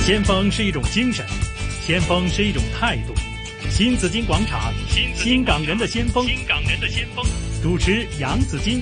先锋是一种精神，先锋是一种态度。新紫金广场，新港人的先锋，主持杨紫金。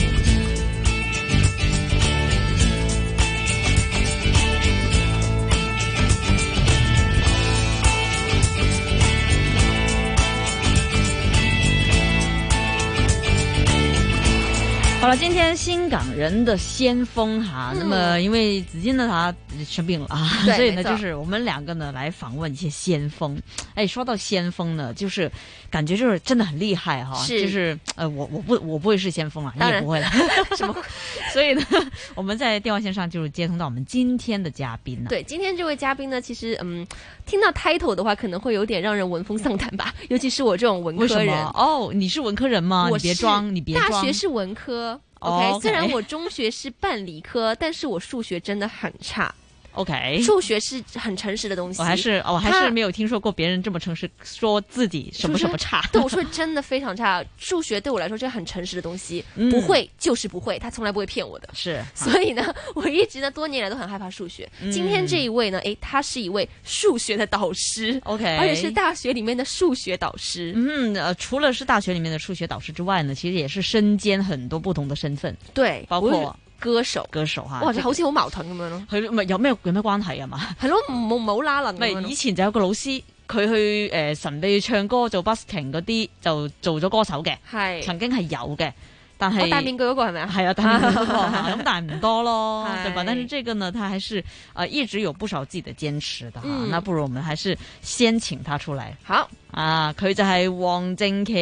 好了，今天新港人的先锋哈，那么因为紫金呢他生病了啊，所以呢就是我们两个呢来访问一些先锋。哎，说到先锋呢，就是感觉就是真的很厉害哈，就是我不会是先锋啊，你也不会了，什么？所以呢，我们在电话线上就是接通到我们今天的嘉宾呢。 对，今天这位嘉宾呢，其实听到 title 的话，可能会有点让人闻风丧胆吧，尤其是我这种文科人。 为什么？哦，你是文科人吗？你别装，你别装。 大学是文科。OK， 虽然我中学是半理科，但是我数学真的很差。 OK， 数学是很诚实的东西。我还是没有听说过别人这么诚实，说自己什么什么差。 对，我说真的非常差。数学对我来说是很诚实的东西，不会就是不会，他从来不会骗我的。 是， 所以呢，我一直呢多年来都很害怕数学。今天这一位呢，他是一位数学的导师 ，OK， 而且是大学里面的数学导师。 除了是大学里面的数学導師之外呢，其實也是身兼很多不同的身份， 對， 包括歌手嚇， 哇，好似好矛盾咁樣咯。 佢咪有咩關係啊嘛？ 係咯，唔好拉楞。 咪以前就有個老師，佢去神秘唱歌做 busking 嗰啲，就做咗歌手嘅，係曾經係有嘅。但係戴面具嗰個係咪啊？ 係啊，戴面具嗰個咁，但係唔多咯，對吧？但是這個呢，他還是一直有不少自己的堅持的哈。那不如我們還是先請他出來。 好啊，佢就係黃正橋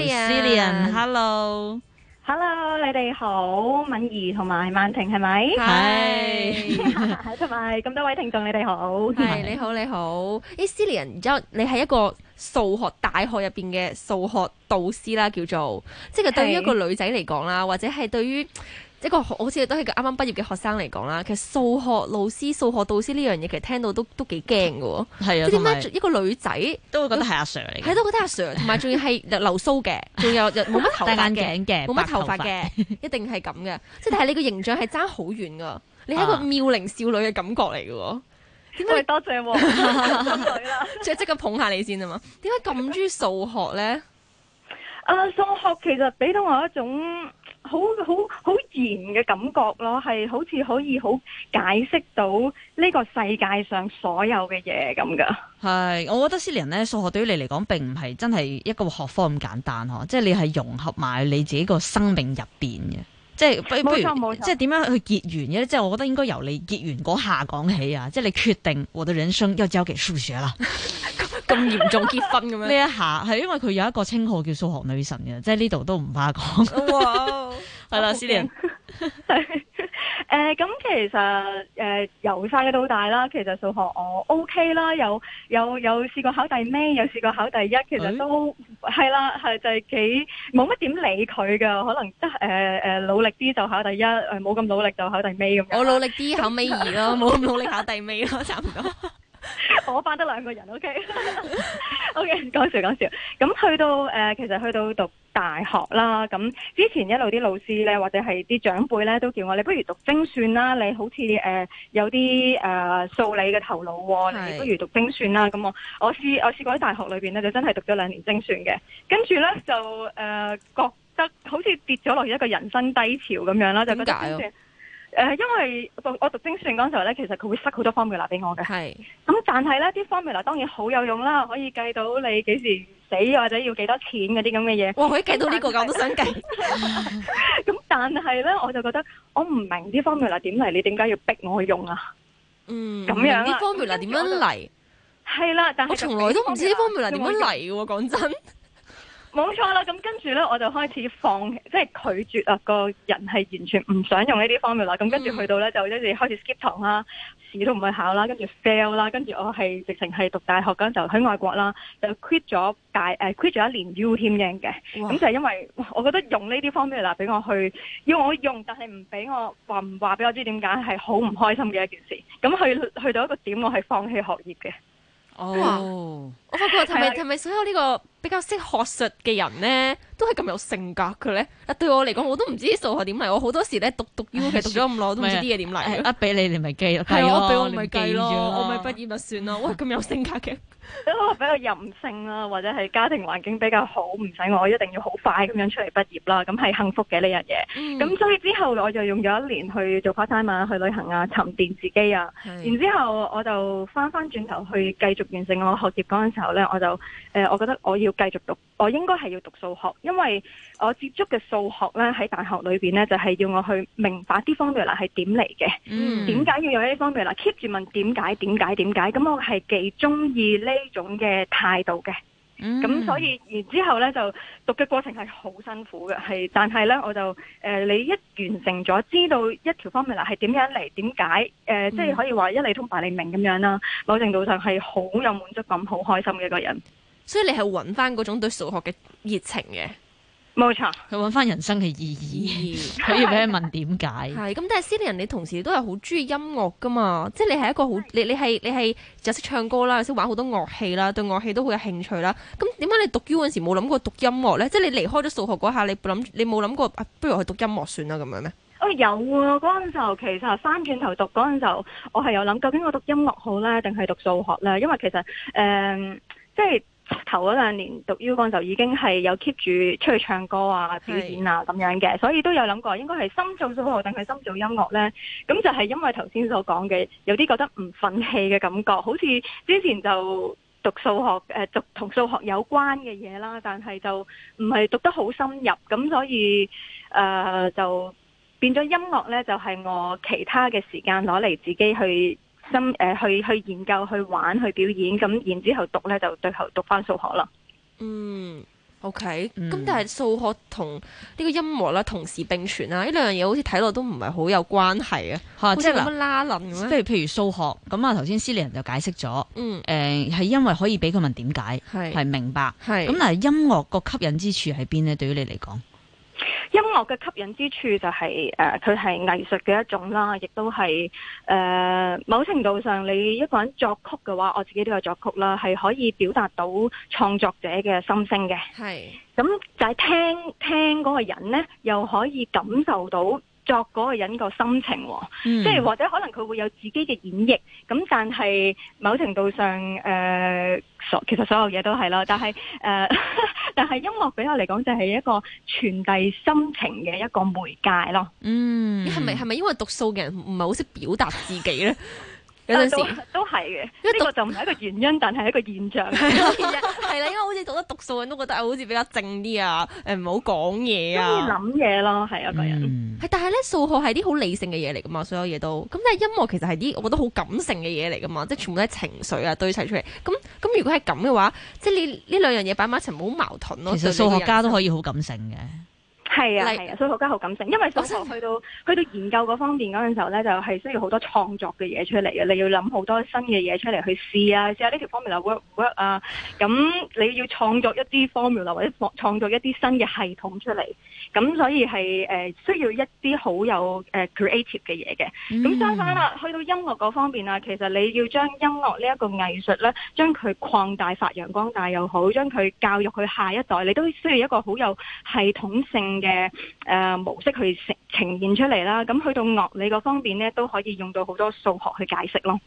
Cillian，Hello。 Hello， 你哋好，敏儀同埋曼婷係咪？ 係， 同埋咁多位聽眾，你哋好。 係，你好，你好。Cillian， 然之後你係一個數學大學入邊嘅數學導師啦，叫做，即係對於一個女仔嚟講啦，或者係對於一個好似都係個啱啱畢業嘅學生嚟講啦，其實數學老師、數學導師呢樣嘢，其實聽到都幾驚㗎喎。係啊，即係點解一個女仔都會覺得係阿 Sir 嚟嘅？ 係都覺得阿 Sir， 同埋仲要係留鬚嘅，仲有冇乜頭髮戴眼鏡嘅， 冇乜頭髮嘅，一定係咁嘅。即係但係你個形象係爭好遠㗎，你係一個妙齡少女嘅感覺嚟㗎喎。 點解多謝喎？ 即刻捧下你先啊嘛！點解咁中意數學咧？ 數學其實俾到我一種好嚴嘅感覺咯，係好似可以好解釋到呢個世界上所有嘅嘢咁噶。 係，我覺得Cillian咧，數學對於你嚟講並唔係真係一個學科咁簡單嗬，即係你係融合埋你自己個生命入邊嘅。即係不如即係點樣去結緣嘅咧？即係我覺得應該由你結緣嗰下講起啊！即係你決定我的人生要交給數學啦， 咁嚴重結婚咁樣呢一下係因為佢有一個稱號叫數學女神嘅，即係呢度都唔怕講。 哇！ 係啦，Cillian。 咁其實由細到大啦，其實數學我 OK 啦，有試過考第尾，有試過考第一，其實都係啦，係就係幾冇乜點理佢㗎，可能得努力啲就考第一，冇咁努力就考第尾咁樣。 我努力啲考尾二咯，冇咁努力考第尾咯，差唔多。 我班得兩個人 ，OK， 講笑。咁去到其實去到讀大學啦，咁之前一路啲老師咧，或者係啲長輩咧，都叫我你不如讀精算啦，你好似有啲數理嘅頭腦喎，你不如讀精算啦。咁我試過喺大學裏邊咧，就真係讀咗2年精算嘅，跟住咧就覺得好似跌咗落一個人生低潮咁樣啦，就覺得精算。因為我讀精算嗰陣時候咧，其實佢會塞好多 formula 俾我嘅。係。咁但係咧，啲 formula 當然好有用啦，可以計到你幾時死或者要幾多錢嗰啲咁嘅嘢。 哇！可以計到呢個㗎，我都想計。 咁但係咧，我就覺得我唔明啲 formula 點嚟，你點解要逼我去用啊？咁樣啲 formula 點樣嚟？ 係啦，但係我從來都唔知啲 formula 點樣嚟嘅喎，講真。 冇錯啦，咁跟住咧我就開始放棄，即係拒絕啊！個人係完全唔想用呢啲方面啦。咁跟住去到咧就一直開始 skip 堂啦，試都唔去考啦，跟住 fail 啦，跟住我係直情係讀大學嗰陣就喺外國啦，就 quit 咗1年 U 添嘅。咁就係因為我覺得用呢啲方面啦，俾我去要我用，但係唔俾我話俾我知點解係好唔開心嘅一件事。咁去到一個點，我係放棄學業嘅。 我發覺係咪所有呢個比較識學術嘅人咧，都係咁有性格嘅咧？對我嚟講，我都唔知數學點嚟。我好多時咧讀 U 其實讀咗咁耐，我都唔知啲嘢點嚟。 一俾你咪記咯， 係我俾我咪計咯，我咪畢業咪算咯。喂，咁有性格嘅。 比較任性啦，或者係家庭環境比較好，唔使我一定要好快咁樣出嚟畢業啦，咁係幸福嘅呢樣嘢。咁所以之後我就用咗1年去做 part time 啊，去旅行啊，沉澱自己啊。然之後我就翻轉頭去繼續完成我學業嗰陣時候呢，我覺得我要繼續讀，我應該係要讀數學，因為我接觸嘅數學呢，喺大學裏邊呢，就係要我去明白啲 formula 係點嚟嘅，點解要有呢啲 formula keep 住問點解，咁我係幾中意呢種嘅態度嘅。咁所以然之後呢，就讀嘅過程係好辛苦嘅，但係呢，我就你一完成咗，知道一條 formula 係點樣嚟，點解即係可以話一理通百理明咁樣啦。某程度上係好有滿足感，好開心嘅一個人。 所以你係揾翻嗰種對數學嘅熱情嘅。 冇錯， 佢揾翻人生嘅意義，可以俾佢問點解。 係咁，但係Cillian你同時都係好中意音樂噶嘛？即係你係一個好，你係就識唱歌啦，又識玩好多樂器啦，對樂器都好有興趣啦。咁點解你讀 U 嗰陣時冇諗過讀音樂咧？即係你離開咗數學嗰下，你冇諗過不如去讀音樂算啦咁樣咩？ 有啊！嗰陣時候其實翻轉頭讀嗰陣時候，我係有諗究竟我讀音樂好咧，定係讀數學咧？因為其實即係。頭嗰2年讀 U 嗰陣就已經係有 keep 住出去唱歌啊、表演啊咁樣嘅，所以都有諗過應該係深做數學定係深做音樂呢？咁就係因為頭先所講嘅，有啲覺得唔憤氣嘅感覺，好似之前就讀數學讀同數學有關嘅嘢啦，但係就唔係讀得好深入，咁所以就變咗音樂呢，就係我其他嘅時間攞嚟自己去去研究、去玩、去表演，咁然之後讀呢，就最後讀翻數學啦。 OK，咁但係數學同呢個音樂啦同時並存啦，呢兩樣嘢好似睇落都唔係好有關係啊，好似冇乜拉楞咁樣。 譬如數學咁啊，頭先Cillian就解釋咗，係因為可以俾佢問點解，係明白。咁但係音樂個吸引之處喺邊呢？對於你嚟講？ 音樂嘅吸引之處就係佢係藝術嘅一種啦，亦都係某程度上你一個人作曲嘅話，我自己都有作曲啦，係可以表達到創作者嘅心聲嘅。係咁就係聽嗰個人呢，又可以感受到作嗰個人個心情，即係或者可能佢會有自己嘅演繹，咁但係某程度上其實所有嘢都係啦，但係音樂俾我嚟講就係一個傳遞心情嘅一個媒介咯。 係咪因為讀數嘅人唔係好識表達自己呢？有陣時都係嘅，呢個就唔係一個原因，但係一個現象。 係啦，因為好似讀得讀數人都覺得好似比較靜啲啊，唔好講嘢啊， 中意諗嘢咯，係一個人。 但係咧數學係啲好理性嘅嘢嚟噶嘛，所有嘢都。咁但係音樂其實係啲我覺得好感性嘅嘢嚟噶嘛，即係全部都係情緒啊堆砌出嚟。咁如果係咁嘅話，即係你呢兩樣嘢擺埋一齊，好矛盾咯。 其實數學家都可以好感性嘅。 係啊，數學家好感性，因為數學去到研究嗰方面嗰陣時候咧，就係需要好多創作嘅嘢出嚟嘅，你要諗好多新嘅嘢出嚟去試下呢條 formula work 唔 work 啊，咁你要創作一啲 formula 或者創作一啲新嘅系統出嚟，咁所以係需要一啲好有creative 嘅嘢嘅。咁相反啦，去到音樂嗰方面啊，其實你要將音樂呢一個藝術咧，將佢擴大發揚光大又好，將佢教育佢下一代，你都需要一個好有系統性嘅模式去呈現出嚟啦。咁去到樂理嗰方面呢，都可以用到好多數學去解釋咯。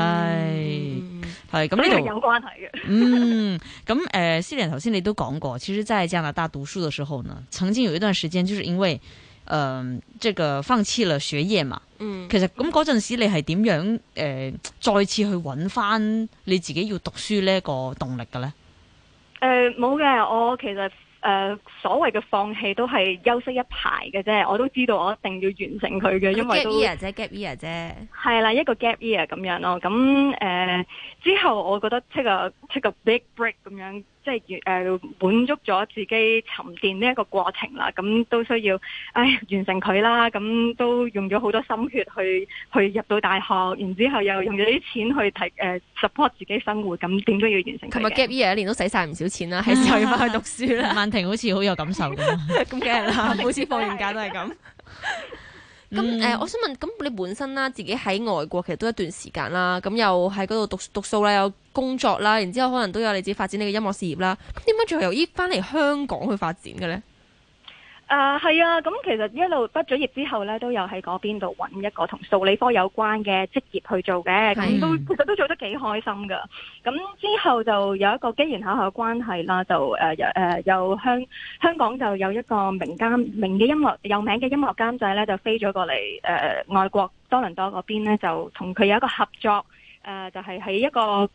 係咁呢度有關係嘅。 咁Cillian頭先你都講過，其實在加拿大讀書嘅時候呢，曾經有一段時間就是因為這個放棄了學業嘛。其實咁嗰陣時你係點樣再次去揾翻你自己要讀書呢個動力嘅呢？ 冇嘅，我其實所謂嘅放棄都係休息一排嘅啫，我都知道我一定要完成佢嘅，因為都 gap year 啫， 係啦，一個 gap year 咁樣咯。咁之後我覺得 take a big break 咁樣，即係滿足咗自己沉澱呢一個過程啦。咁都需要完成佢啦。咁都用咗好多心血去入到大學，然之後又用咗啲錢去support 自己生活，咁點都要完成佢嘅。同埋 gap year 一年都使晒唔少錢啦，係時候要翻去讀書啦。 曼婷好似好有感受咁， 咁梗係啦，每次放完假都係咁。 咁我想問，咁你本身啦，自己喺外國其實都一段時間啦，咁又喺嗰度讀書啦，有工作啦，然之後可能都有你自己發展你嘅音樂事業啦。咁點解最後又翻嚟香港去發展嘅咧？ 係啊，咁其實一路畢咗業之後咧，都有喺嗰邊度揾一個同數理科有關嘅職業去做嘅，咁其實都做得幾開心噶。咁之後就有一個機緣巧合嘅關係啦，就有香港就有一個有名嘅音樂監製咧，就飛咗過嚟外國多倫多嗰邊咧，就同佢有一個合作，就係喺一個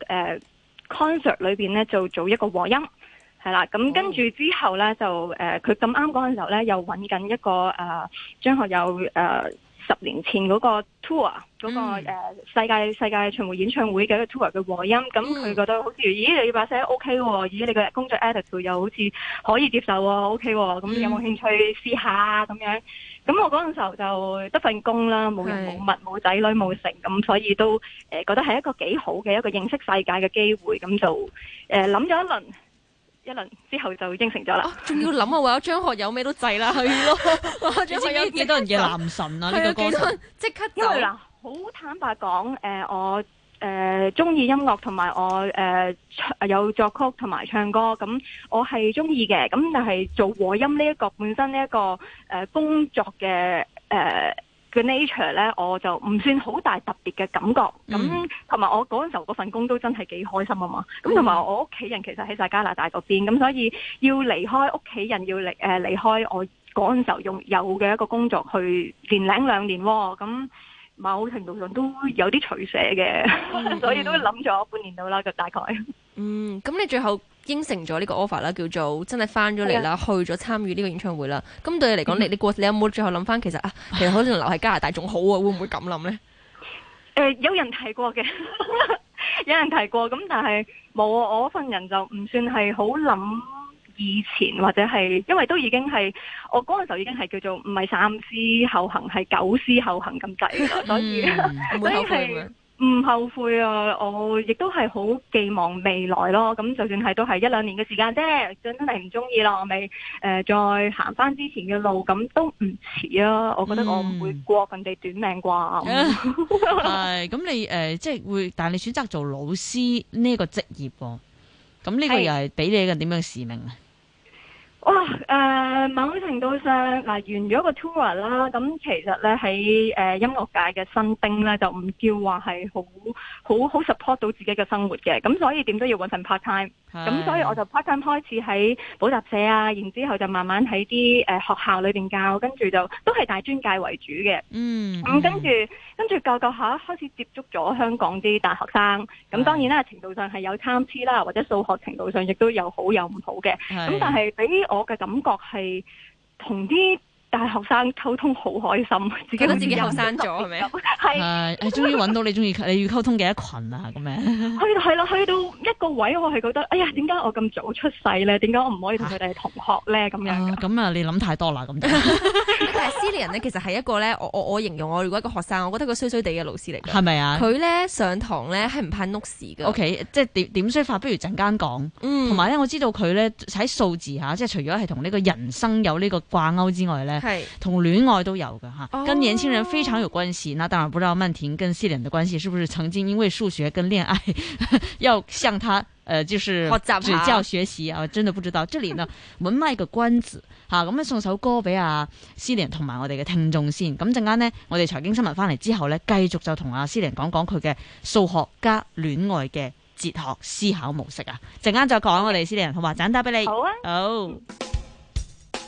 concert 裏邊咧做一個和音。係啦，咁跟住之後咧就佢咁啱嗰陣時候咧，又揾緊一個張學友10年前嗰個 tour 嗰個世界巡迴演唱會嘅一個 tour 嘅和音，咁佢覺得好似咦你把聲 OK 喎，咦你個工作 attitude 又好似可以接受喎 OK 喎，咁有冇興趣試下咁樣？咁我嗰陣時候就得份工啦，冇人冇物冇仔女冇成，咁所以都覺得係一個幾好嘅一個認識世界嘅機會，咁就諗咗一輪之後就應承咗啦。 仲要諗啊，為咗張學友咩都制啦，係咯。 你知唔知幾多人嘅男神啊？呢個歌神即刻因為嗱，好坦白講，我中意音樂同埋我有作曲同埋唱歌，咁我係中意嘅。咁但係做和音呢一個本身呢一個工作嘅嘅 nature 咧，我就唔算好大特別嘅感覺。咁同埋我嗰陣時候嗰份工都真係幾開心啊嘛。咁同埋我屋企人其實喺晒加拿大嗰邊，咁所以要離開屋企人，要離開我嗰陣時候有嘅一個工作去年零2年喎。咁某程度上都有啲取捨嘅，所以都諗咗半年到啦，就大概。 咁你最後應承咗呢個 offer 啦，叫做真係翻咗嚟啦，去咗參與呢個演唱會啦。咁對你嚟講，你有冇最後諗翻，其實可能留喺加拿大仲好啊？會唔會咁諗呢？ 有人提過嘅，有人提過，咁但係冇啊！我份人就唔算係好諗以前，或者係因為都已經係我嗰陣時候已經係叫做唔係3思後行，係9思後行咁滯㗎，所以係。唔後悔啊！我亦都係好寄望未來咯。咁就算係都係1-2年嘅時間啫，真係唔中意啦，我咪再行翻之前嘅路，咁都唔遲啊！我覺得我唔會過人哋短命啩。 係咁你即係會，但係你選擇做老師呢個職業喎，咁呢個又係俾你一個點樣嘅使命啊？ 哇！某程度上完咗個 tour 啦，咁其實咧喺音樂界嘅新丁咧，就唔叫話係好 support 到自己嘅生活嘅，咁所以點都要搵份 part time。咁所以我就 part time 開始喺補習社啊，然之後就慢慢喺啲學校裏邊教，跟住就都係大專界為主嘅。咁跟住教下開始接觸咗香港啲大學生，咁當然啦，程度上係有參差啦，或者數學程度上亦都有好有唔好嘅。咁但係俾我嘅感覺係同啲大學生溝通好開心， 覺得自己後生咗係咪？ 係終於揾到你要溝通嘅一群啊咁樣。 去到一個位，我係覺得，哎呀，點解我咁早出世咧？點解我唔可以同佢哋係同學咧？咁樣咁啊，你諗太多啦咁。 但係Cillian咧，其實係一個咧，我形容我如果一個學生，我覺得佢衰衰地嘅老師嚟嘅。係咪啊？佢咧上堂咧係唔派 notes 嘅。OK， 即係點衰法，不如陣間講。同埋咧，我知道佢咧喺數字嚇，即係除咗係同呢個人生有呢個掛鈎之外咧，同戀愛都有嘅嚇，跟年輕人非常有關係。那當然不知道曼婷跟Cillian的關係是不是曾經因為數學跟戀愛要向他就是指教學習啊？真的不知道。這裡呢，我們賣個關子嚇，咁送首歌俾Cillian同埋我哋嘅聽眾先。咁陣間呢，我哋財經新聞翻嚟之後呢，繼續就同Cillian講佢嘅數學加戀愛嘅哲學思考模式啊。陣間再講我哋Cillian，好嘛？陣間打俾你。好啊。好。